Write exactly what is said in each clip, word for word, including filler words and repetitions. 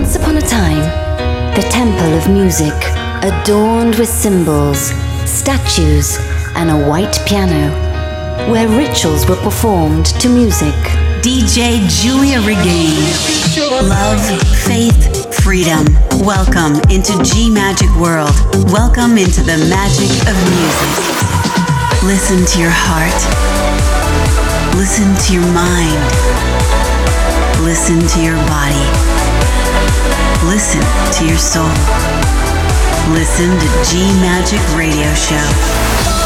Once upon a time, the temple of music, adorned with symbols, statues, and a white piano, where rituals were performed to music. D J Giulia Regain. Love, faith, freedom. Welcome into G Magic World. Welcome into the magic of music. Listen to your heart. Listen to your mind. Listen to your body. Listen to your soul. Listen to G Magic Radio Show.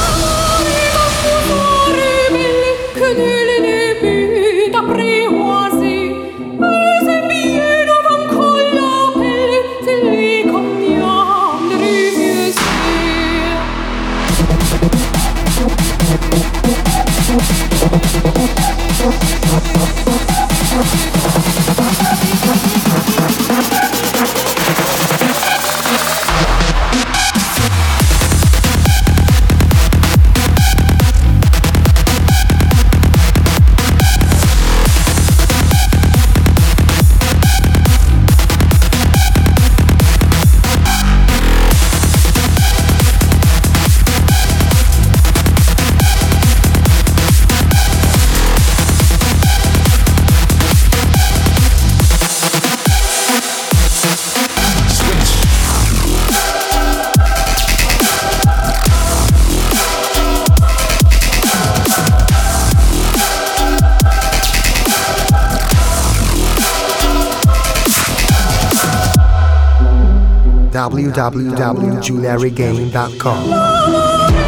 w w w dot giulia regain dot com.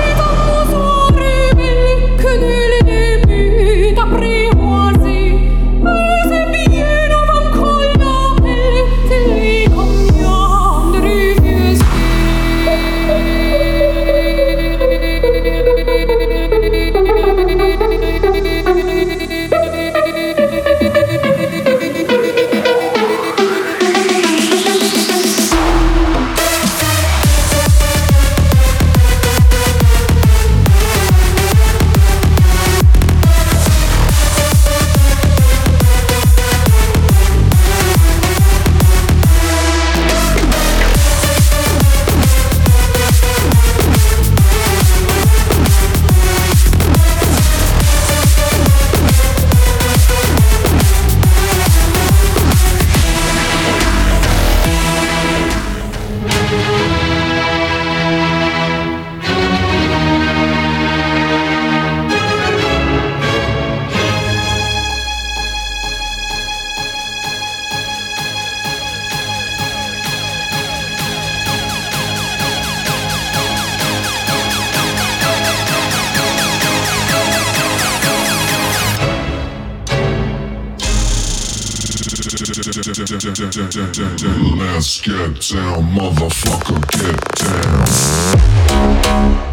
Let's get down, motherfucker, get down.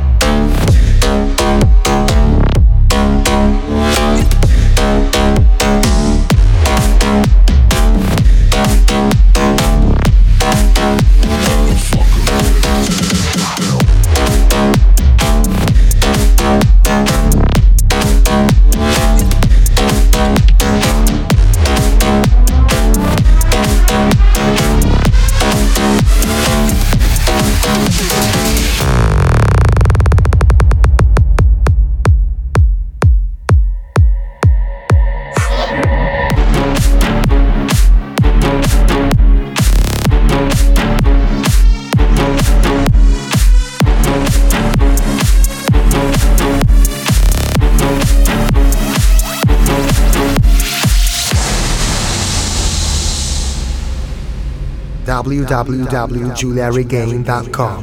w w w dot giulia regain dot com.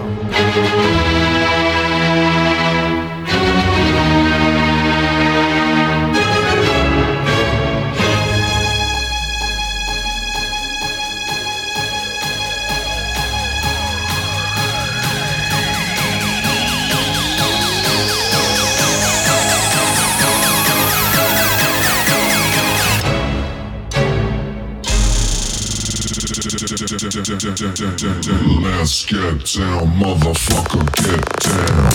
Let's get down, motherfucker, get down.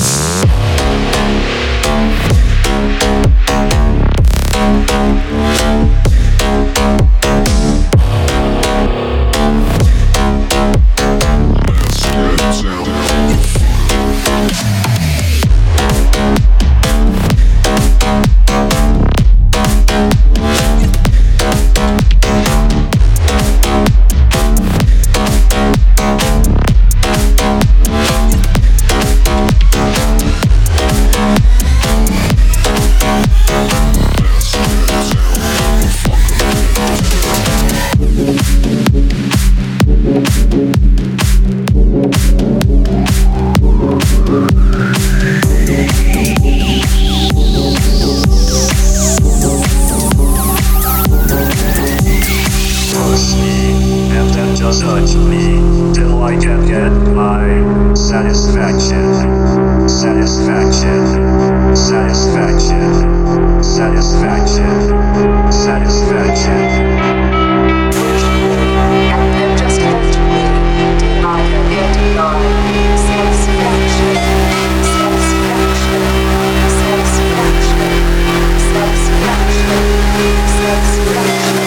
push me, and then just hurt me, till I can get my satisfaction, satisfaction, satisfaction, satisfaction, satisfaction. Push me, and then just hurt me, till I can get my satisfaction, satisfaction, satisfaction, satisfaction, satisfaction.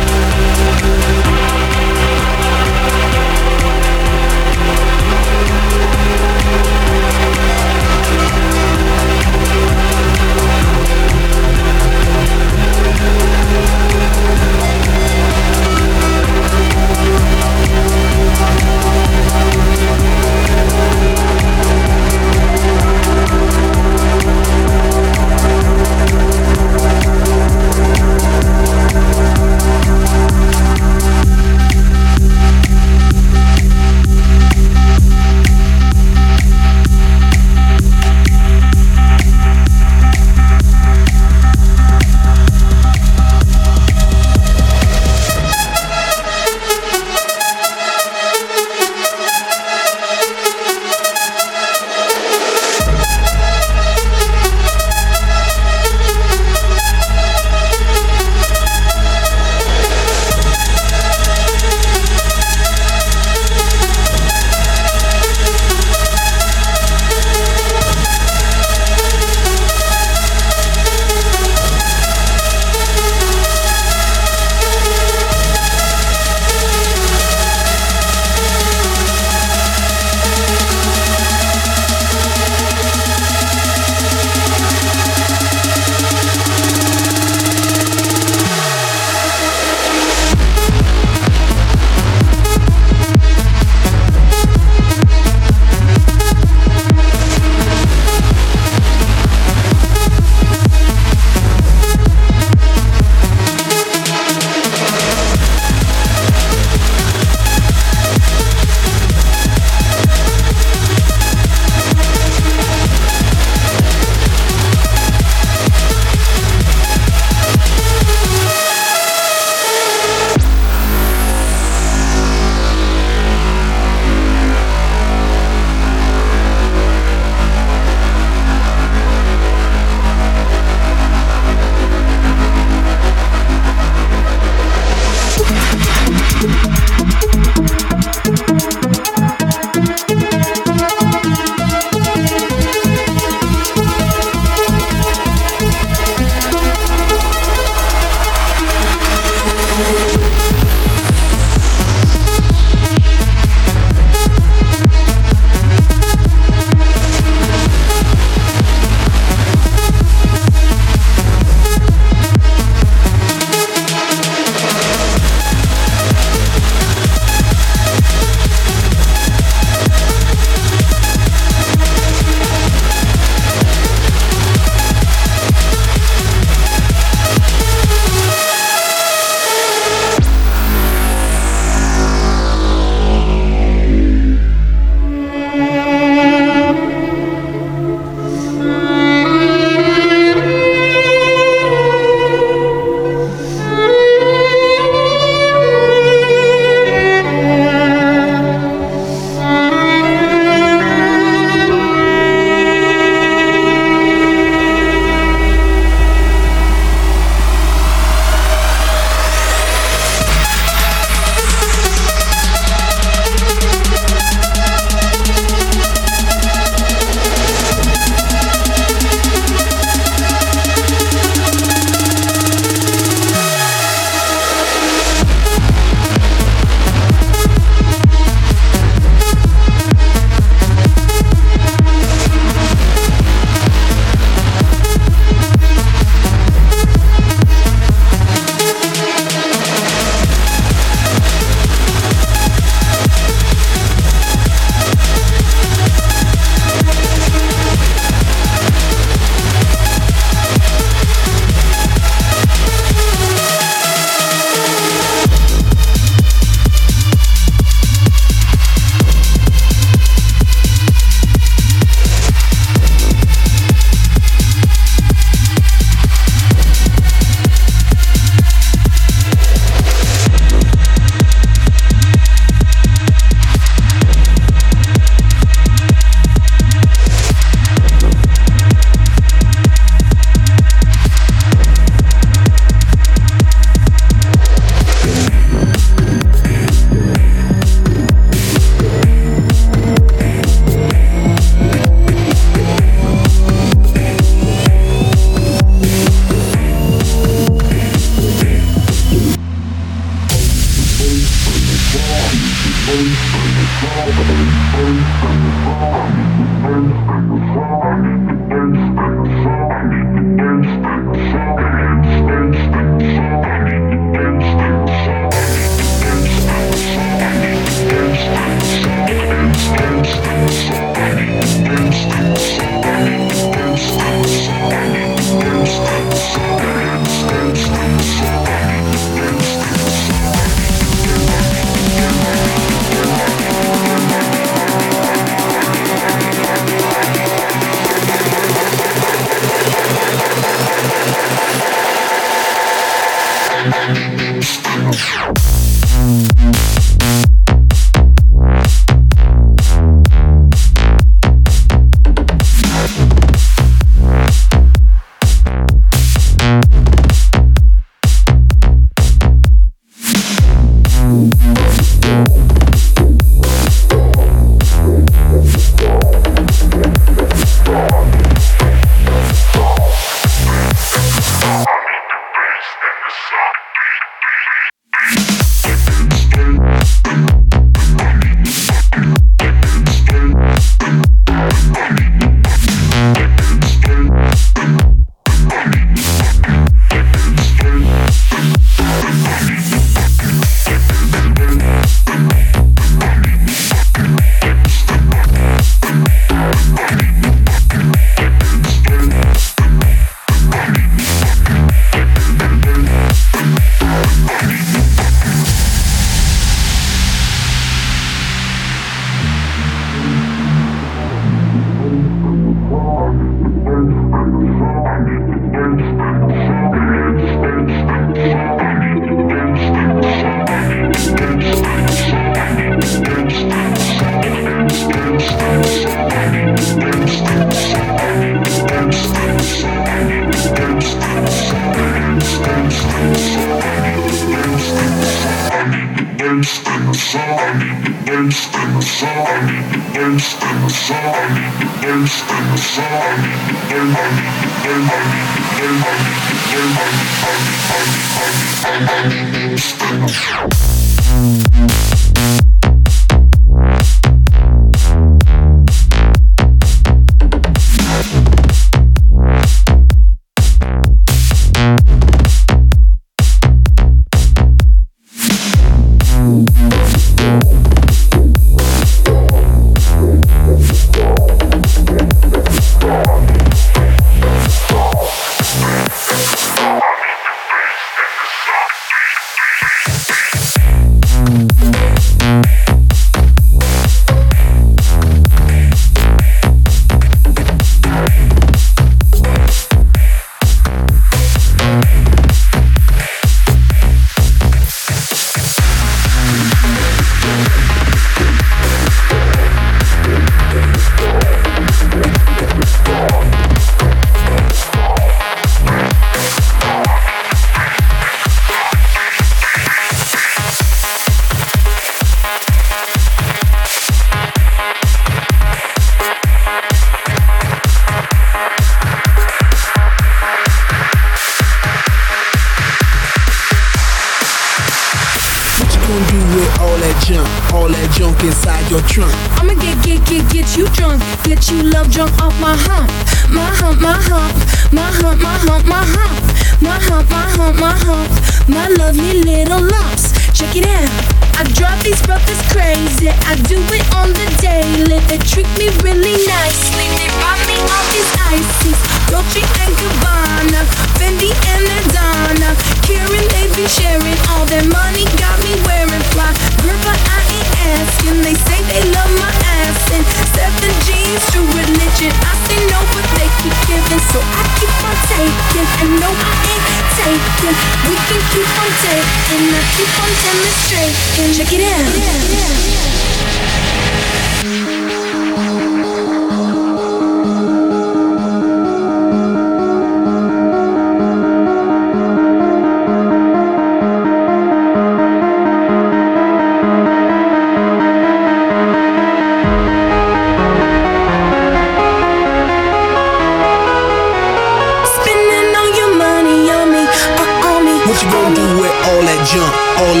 junk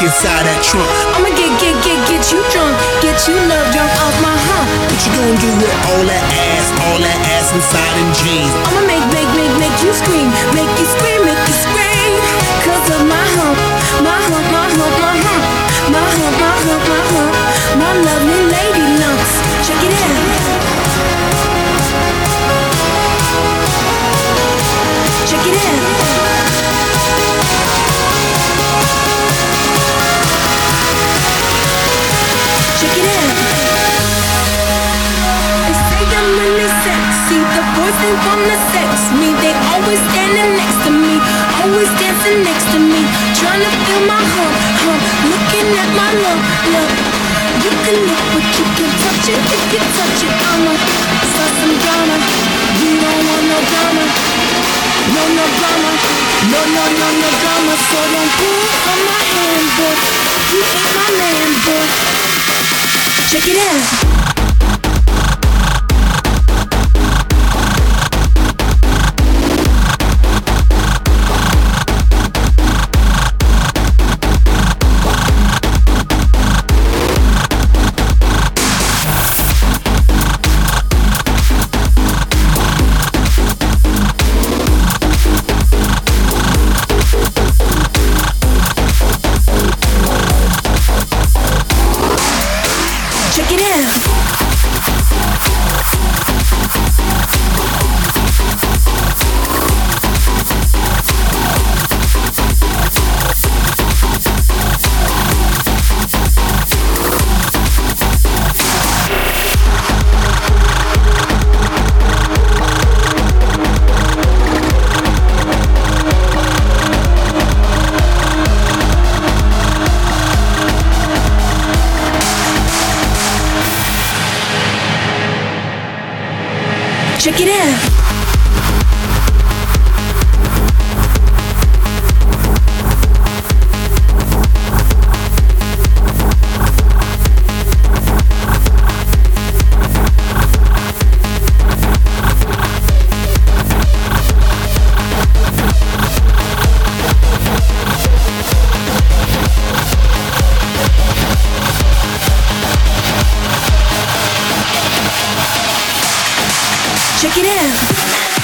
inside that trunk. I'ma get, get, get, get you drunk, get you love drunk off my hump. What you gonna do with all that ass, all that ass inside them jeans? I'ma make, make, make, make you scream, make you scream, make you scream. Cause of my hump, my hump, my hump, my hump, my hump, my hump, my hump, my lovely lady lumps. Check it out. Check it out. Check it out. They say I'm really sexy. The boys they wanna sex me. They always standing next to me, always dancing next to me, trying to feel my hump, hump, looking at my lump, lump. You can look but you can touch it. If you touch it, I'ma start some drama. We don't want no drama. No, no drama. No, no, no, no drama. So don't pull on my hand, boy. You ain't my man, boy. Check it out. Check it out. Check it out.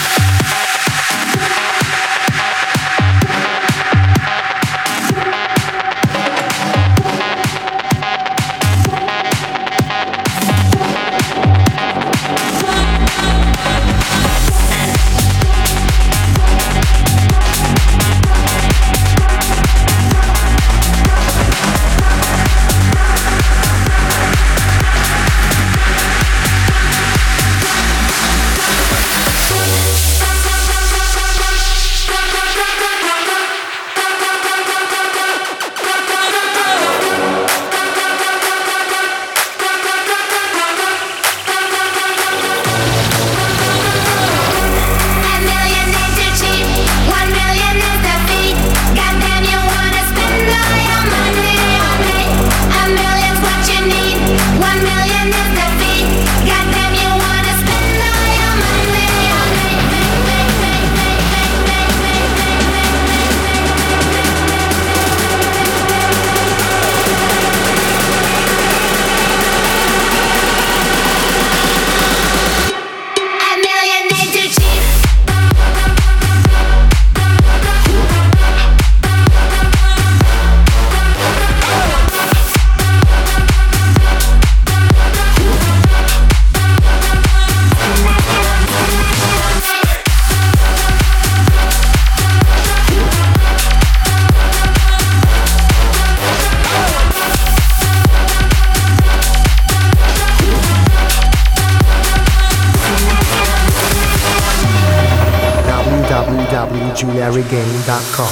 w w w dot julia regain dot com.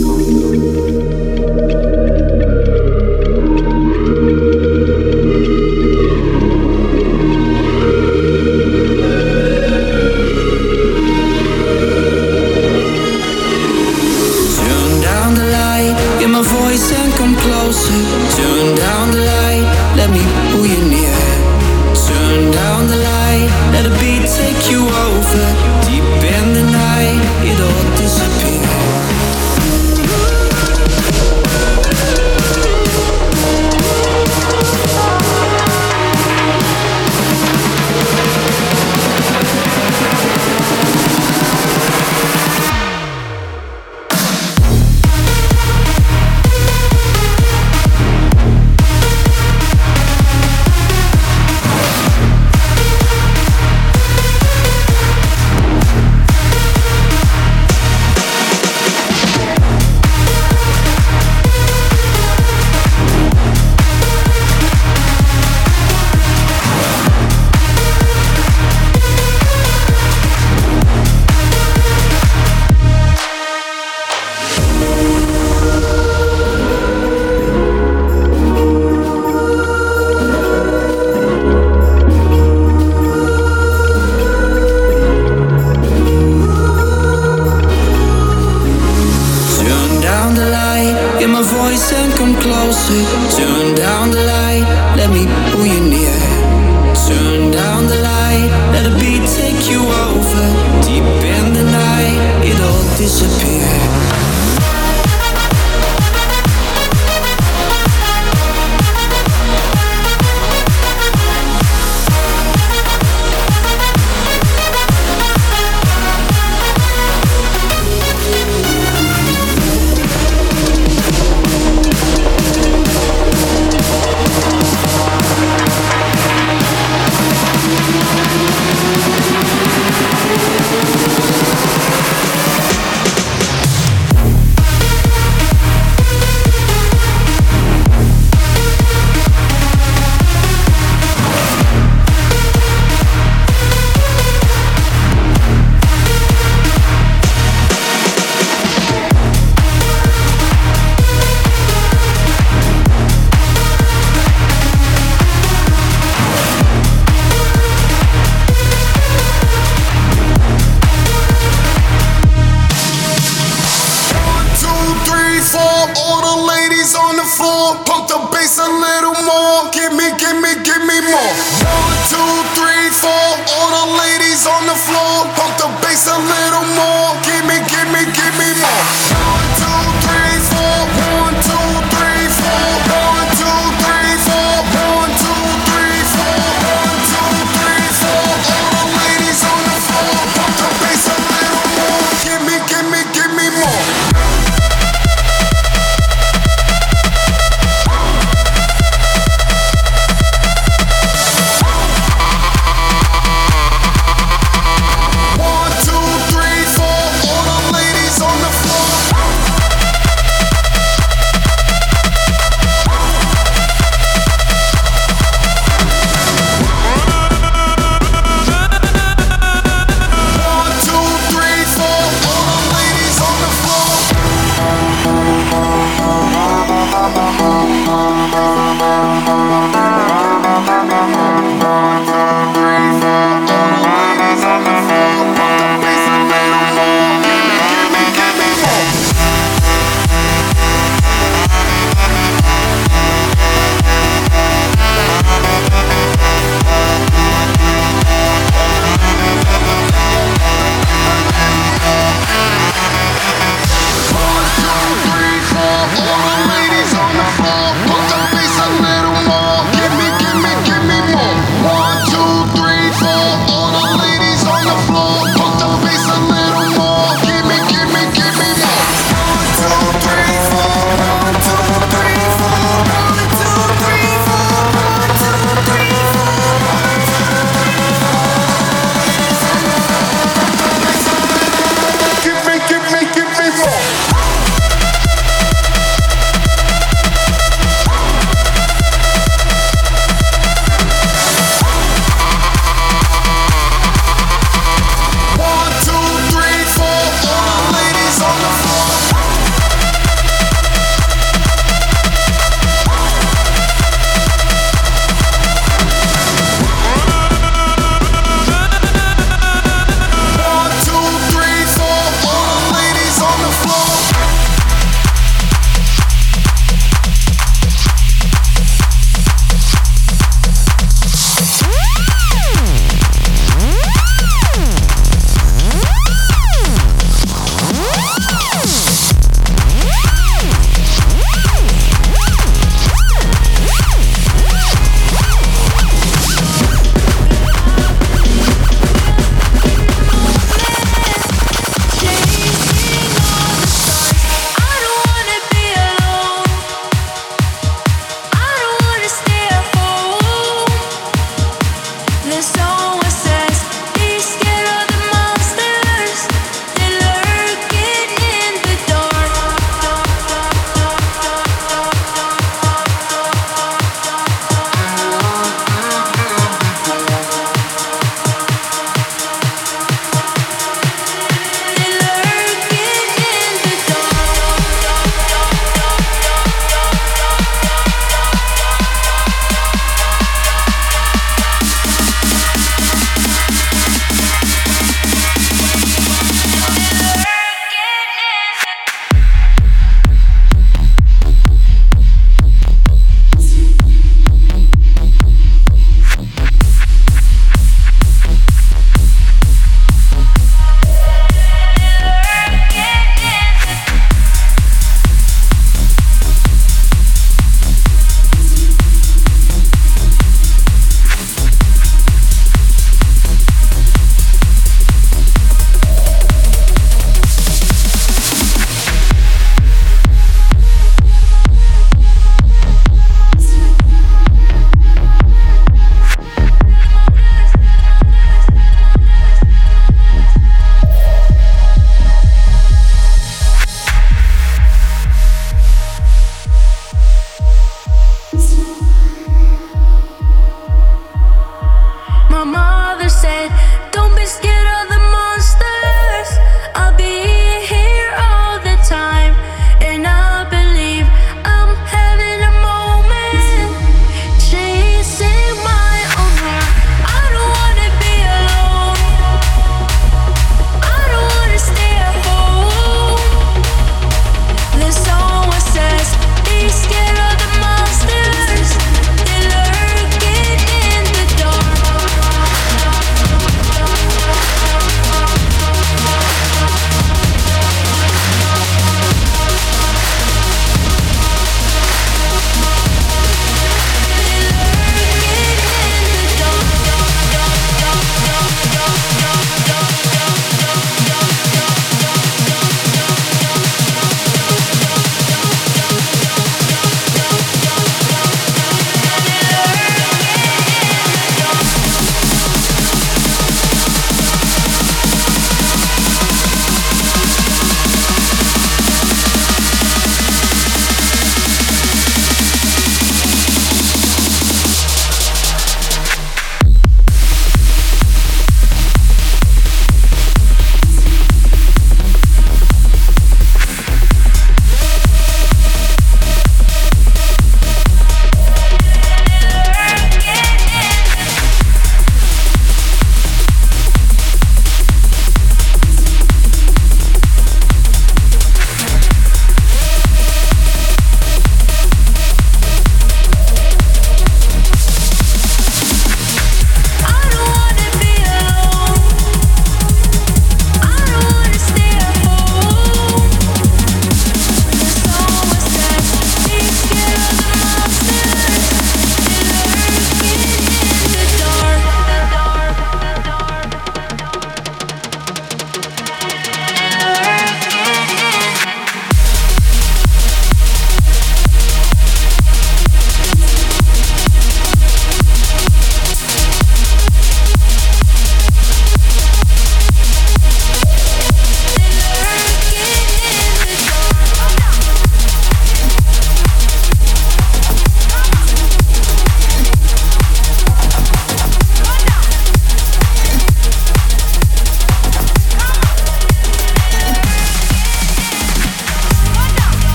Turn down the light, let me pull you near. Turn down the light, let the beat take you over. Deep in the night, it all disappears. more. One, two, three, four. All the ladies on the floor. Pump the bass a little more. Give me, give me, give me more. One, two, three, four. One, two, three, four. One, two, three, four. One, two, three, four. One, two, three, four. All the ladies on the floor. Pump the bass a little more. Give me, give me, give me more.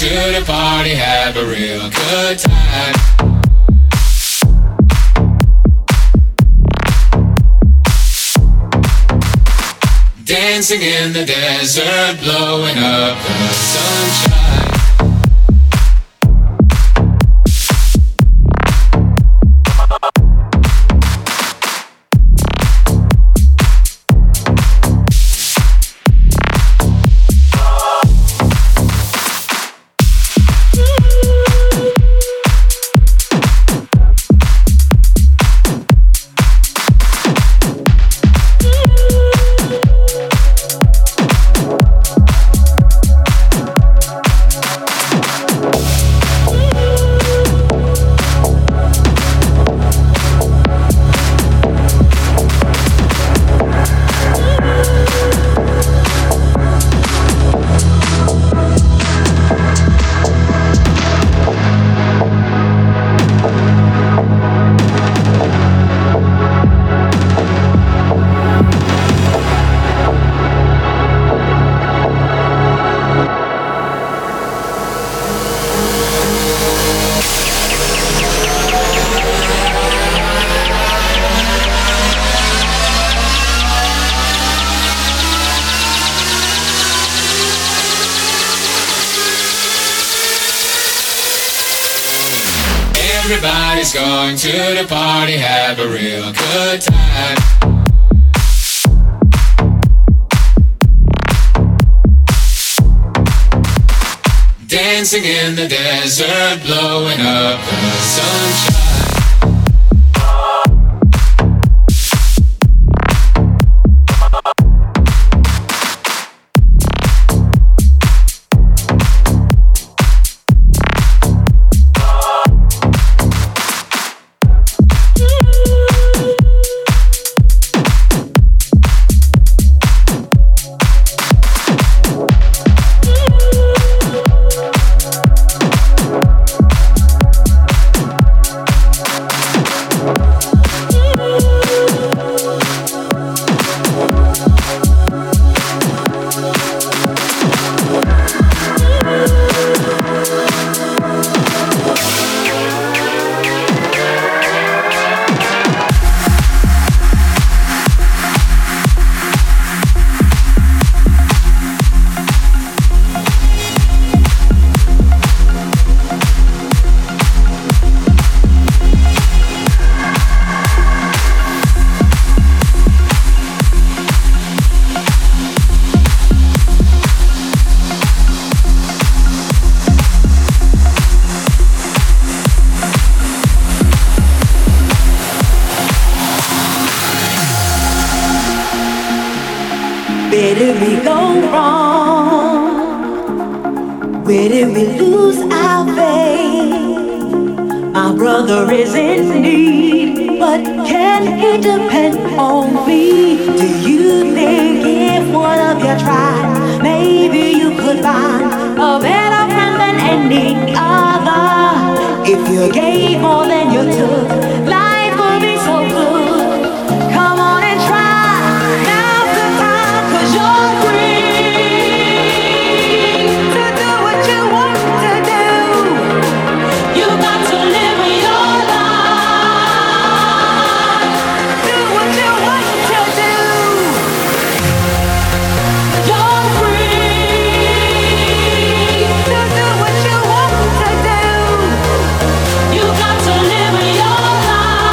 the party, have a real good time. Dancing in the desert, blowing up the sunshine. Everybody's going to the party, have a real good time. Dancing in the desert, blowing up the sunshine. Where did we go wrong? Where did we lose our faith? My brother is in need, but can he depend on me? Do you think if one of you tried, maybe you could find a better friend than any other? If you gave more than you took, life would be so good. Come on and try. Now's the time, 'cause you're free to do what you want to do. You got to live your life. Do what you want to do. You're free to do what you want to do. You got to live your life.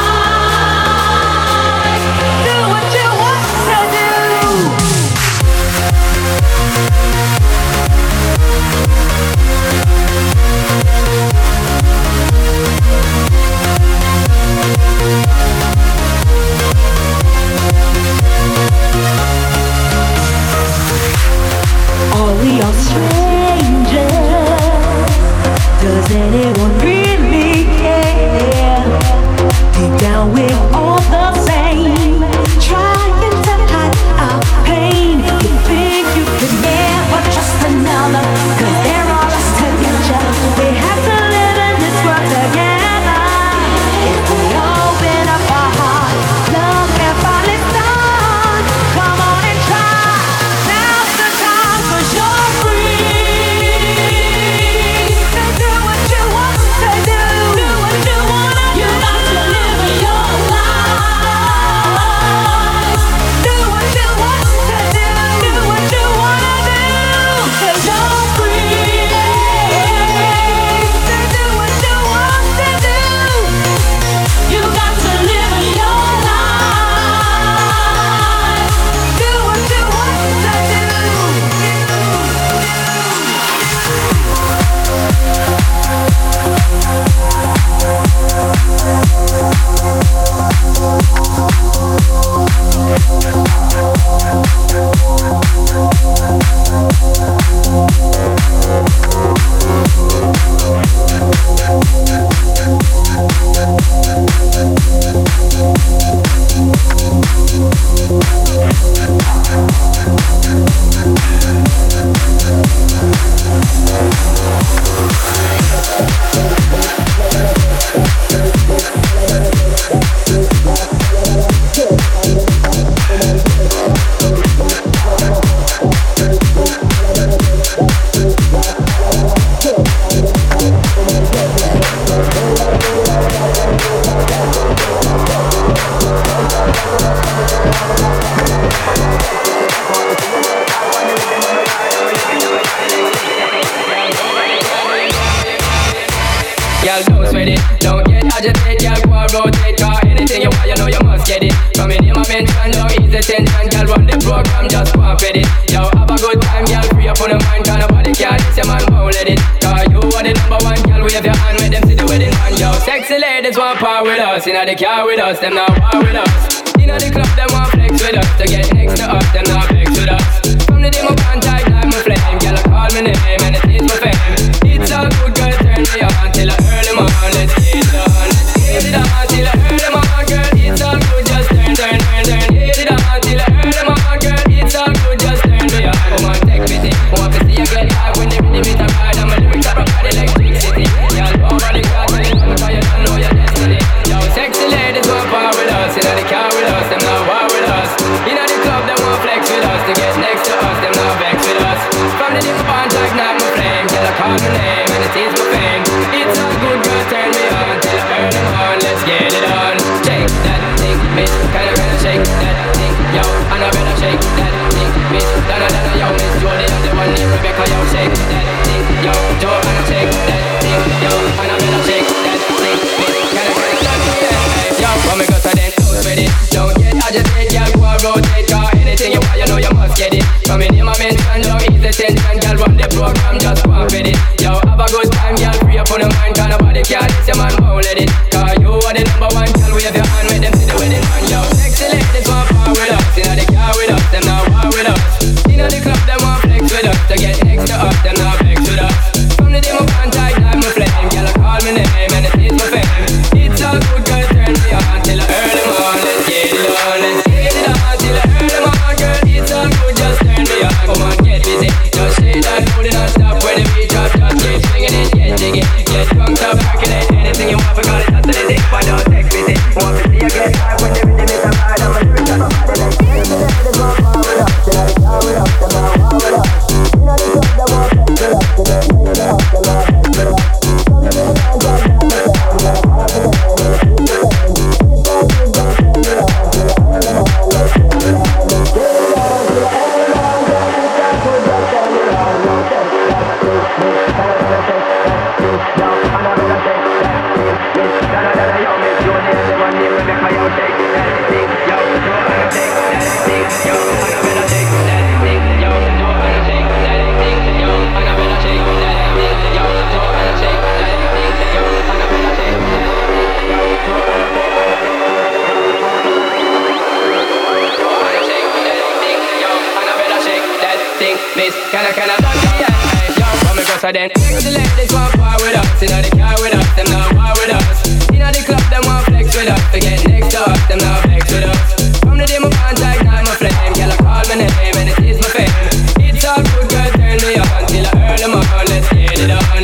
Don't get agitated, girl, go and rotate. Cause anything you want, you know you must get it. From in my mention, don't ease the tension. Girl, run the program, just go and fit it. Yo, have a good time, girl, free up on the mind. Cause nobody can diss your man, won't let it. Cause you are the number one, girl, wave your hand, make them see the wedding man. Yo, sexy ladies want power with us. Inna the car with us, them not war with us. Inna the club, them want flex with us. To get next to us, them not vex with us. From the day my contact, like my flame. Girl, I call me name and it is my fame. It's all good, girl, turn me on till I early morning. Let's get it on, let's get it on till I early morning, girl. It's all good, just turn, turn, turn, turn. Get it on till I early morning, girl. It's all good, just turn me on. Come on, take me thing. Want to see you get high when the rhythm is a ride. And my lyrics are a body like electricity. Girl, over the car, tell you something, cause you don't know your destiny. Yo, sexy ladies want power with us. Inna the car with us, them not war with us. Inna the club, them want flex with us. To get next to us, them not vex with us. From the different band, like not my flame. Girl, I call my name and it is my fame. It's all good, girl, turn me on till I earn them on. Let's get it on. Shake that thing, miss. Kinda, kinda shake that thing, yo. And I better shake that thing, miss. Donna, Donna, yo, miss. Jody, I'm the one named Rebecca, yo. Shake that thing, yo. Joanna, shake that thing, yo. And I better shake that thing, miss. Kinda, kinda, yeah. Yo, when we go to then, close with it. Don't get agitated, girl, go and rotate. Cause anything you want, you know you must get it. Come in, my mention, don't ease the tension. Girl, run the program, just go and fit it. Yo, have a good time, girl, free up on the mind. Cause nobody can diss your man, won't let it. Cause you are the number one, girl, wave your hand, make them see the wedding man. Yo, sexy ladies want power with us. Inna the car with us, them not war with us. Inna the club, them want flex with us. To get next to us, them not vex with us. From the day my contact, like my flame. Girl, I call my name and it is my fame. It's all good, girl, turn me on till I early morning. Let's get it on, let's get it on till I early morning, girl. It's all good, just turn me on. Come on, get busy, just shake that booty non-stop. When the beat drop, just keep swinging it, get jiggy. Get drunk, stop, percolate anything you want, because it's after the day. Why don't text me, say, want to see you get high when the rhythm is a ride. I'm a lyrics on my body like sexy ladies want power with us. Inna the car with us, them not war with us. Inna the club, them want flex with us. To get next to us, them not vex with us. From the day my contact, like my flame. Girl, I call my name and it is my fame. It's all good, girl, turn me on till I earn them on. Let's get it on, let's get it on till I earn them on, girl. It's all good, girl, turn me on. Yo, take that thing, miss. Can I better take that thing, yo. And I better take that thing, miss. Donna, Donna, yo, miss. Jody, I'm the one named Rebecca, yo. Take that thing, yo. Joanna, take that thing, yo. And I better take that thing, yo. Joanna, take that thing, yo. And I better take that thing, yo. Joanna, take that thing, yo. And I better take that thing, yo. Joanna, take that thing, miss. Can I, can I, yeah, yo, come and go so then. Sexy ladies want power with us. Inna the car with us, them not war with us. Inna the club, them want flex with us. To get next to us, them not vex with us. From the day my contact, like my flame. Girl, I call my name and it is my fame. It's all good, girl, turn me on till I earn them on. Let's get it on.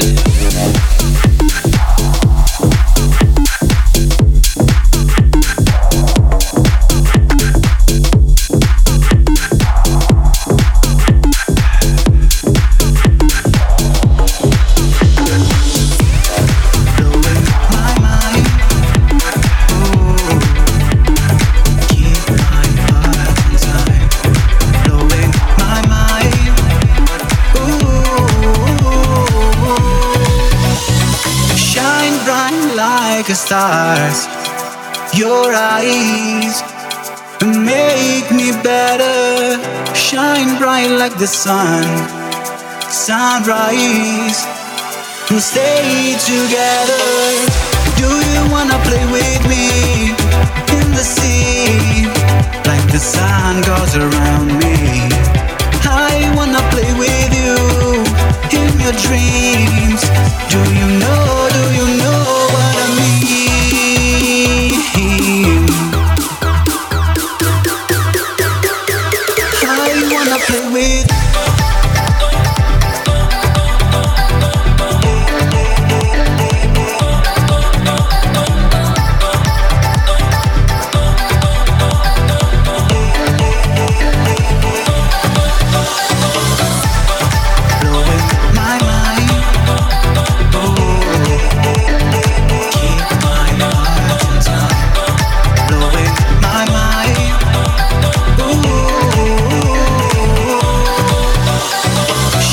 Stars, your eyes make me better. Shine bright like the sun, sunrise, and stay together. Do you wanna play with me in the sea, like the sun goes around me? I wanna play with you in your dreams. Do you know, do you know what I mean? I wanna play with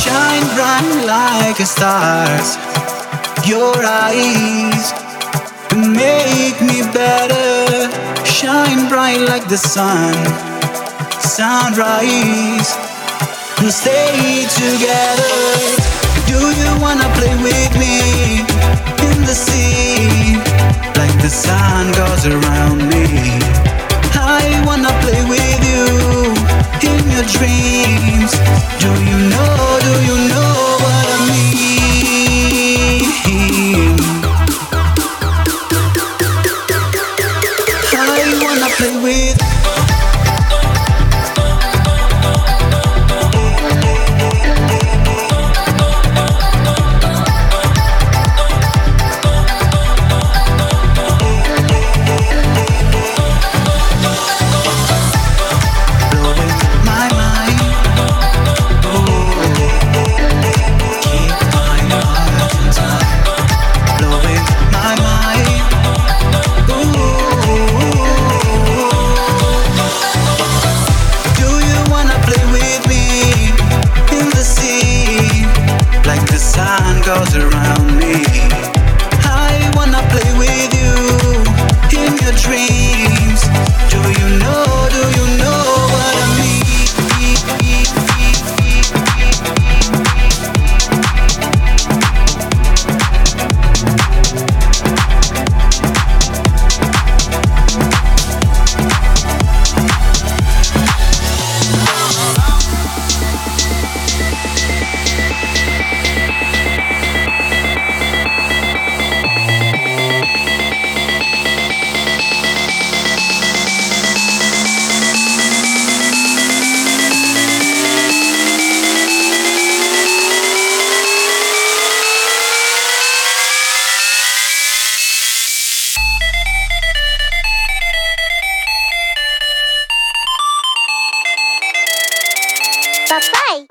stars, your eyes together, shine bright like the sun, sunrise, and stay together. Do you wanna play with me in the sea, like the sun goes around me? I wanna play with you in your dreams. Do you know, do you know what I mean? I wanna play with goes around me. I wanna play with you in your dreams. Do you know, do you know what I mean? Bye-bye.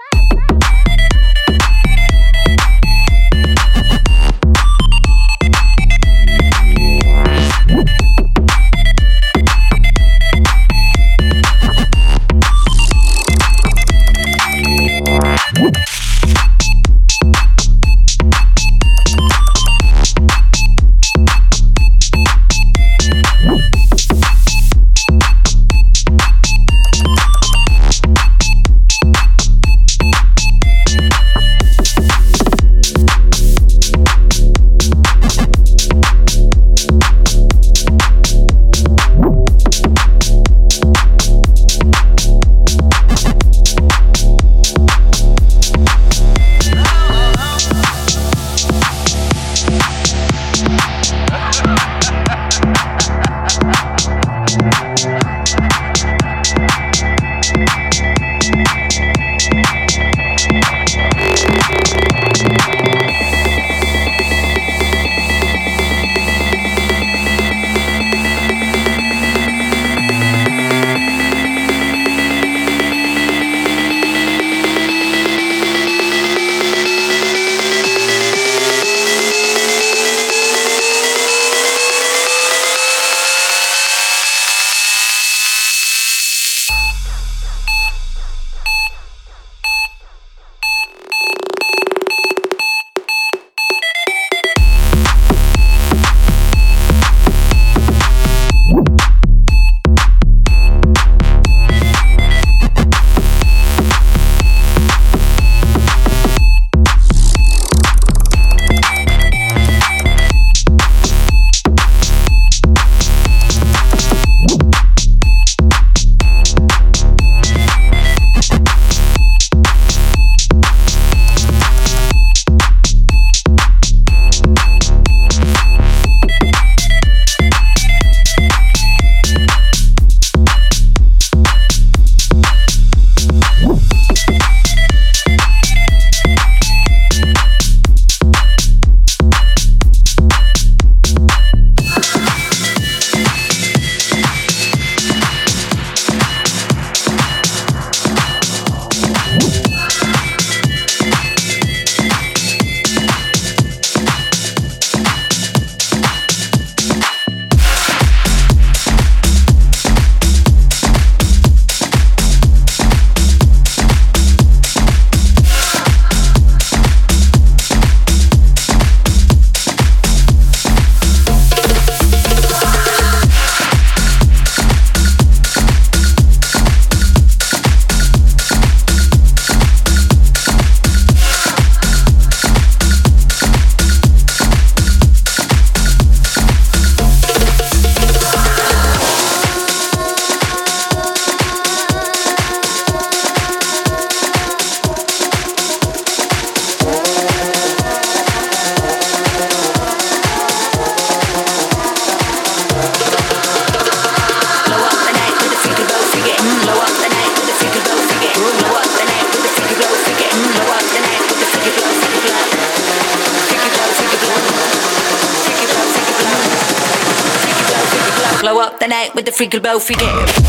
Blow up the night with the freaky blow freaky.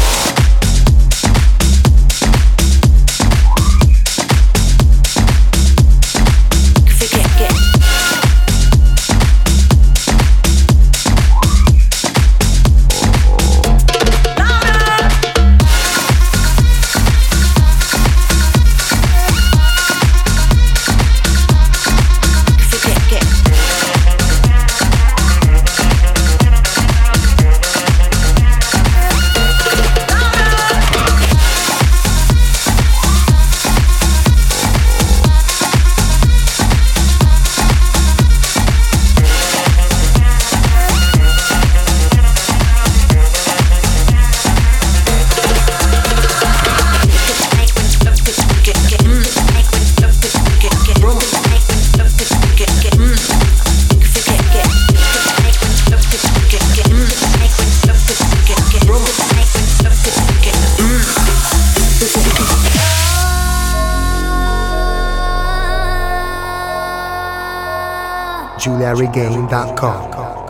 Julia Regain dot com.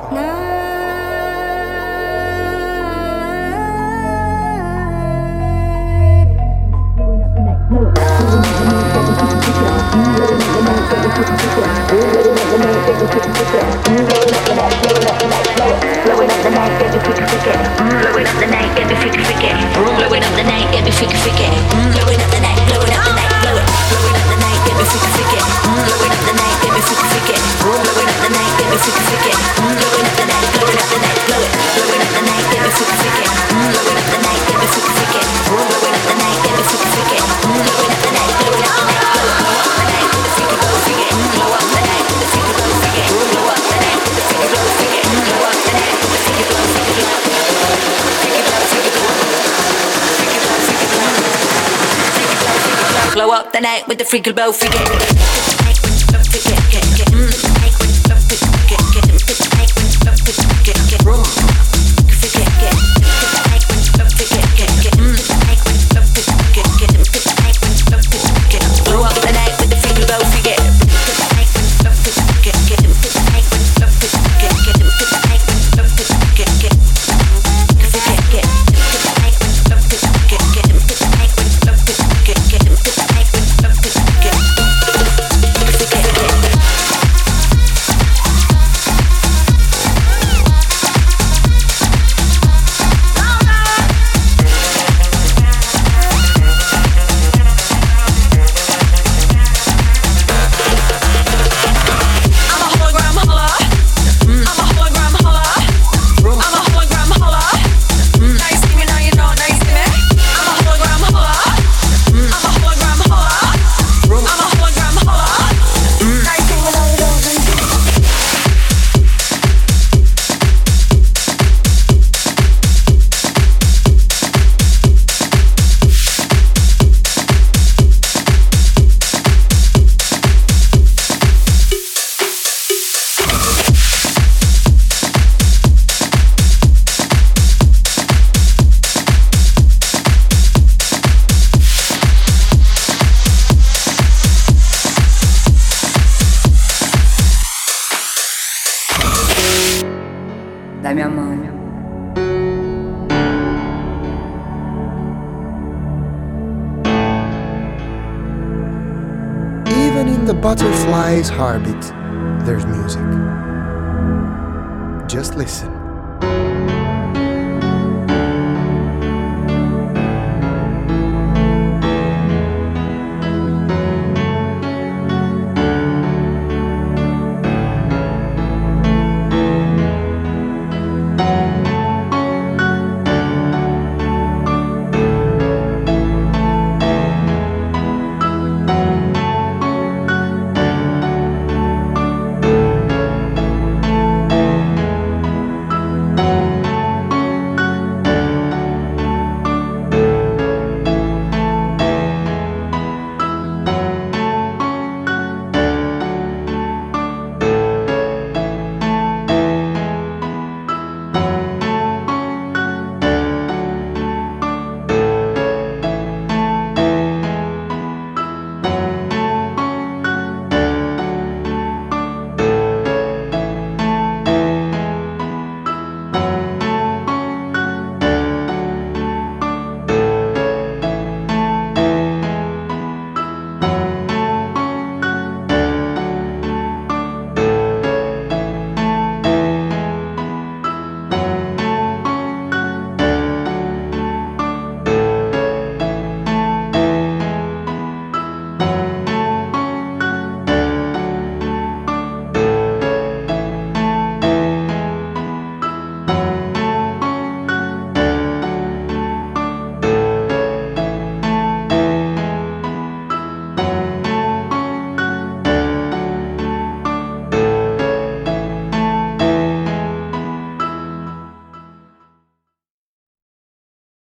Blowing up the night, get me freaky freaky. Blowing up the night, get me freaky freaky. Blowing up the night, get me freaky freaky. Blowing up the night, blowing up the night, blow it. Blowing up the night, get me freaky freaky. Blowing up the night, get me freaky freaky. Blowing up the night, get me freaky freaky. Blowing up the night, blowing up the night, blow it. Blowing up the night, get me freaky freaky. Blowing up the night, get me freaky freaky. Blowing up the night, get me freaky freaky. Blowing up the night, blowing up the night, blow it. Blow up the night with the freaky blow freaky. Blow up the night with the freaky blow freaky. Blow up the night with the freaky blow freaky. Blow up the night with the freaky blow freaky blow. Freaky blow freaky blow. Freaky blow freaky blow. Freaky blow freaky blow. Blow up the night with the freaky blow freaky. La mia mano. Even in the butterfly's heartbeat, there's music. Just listen.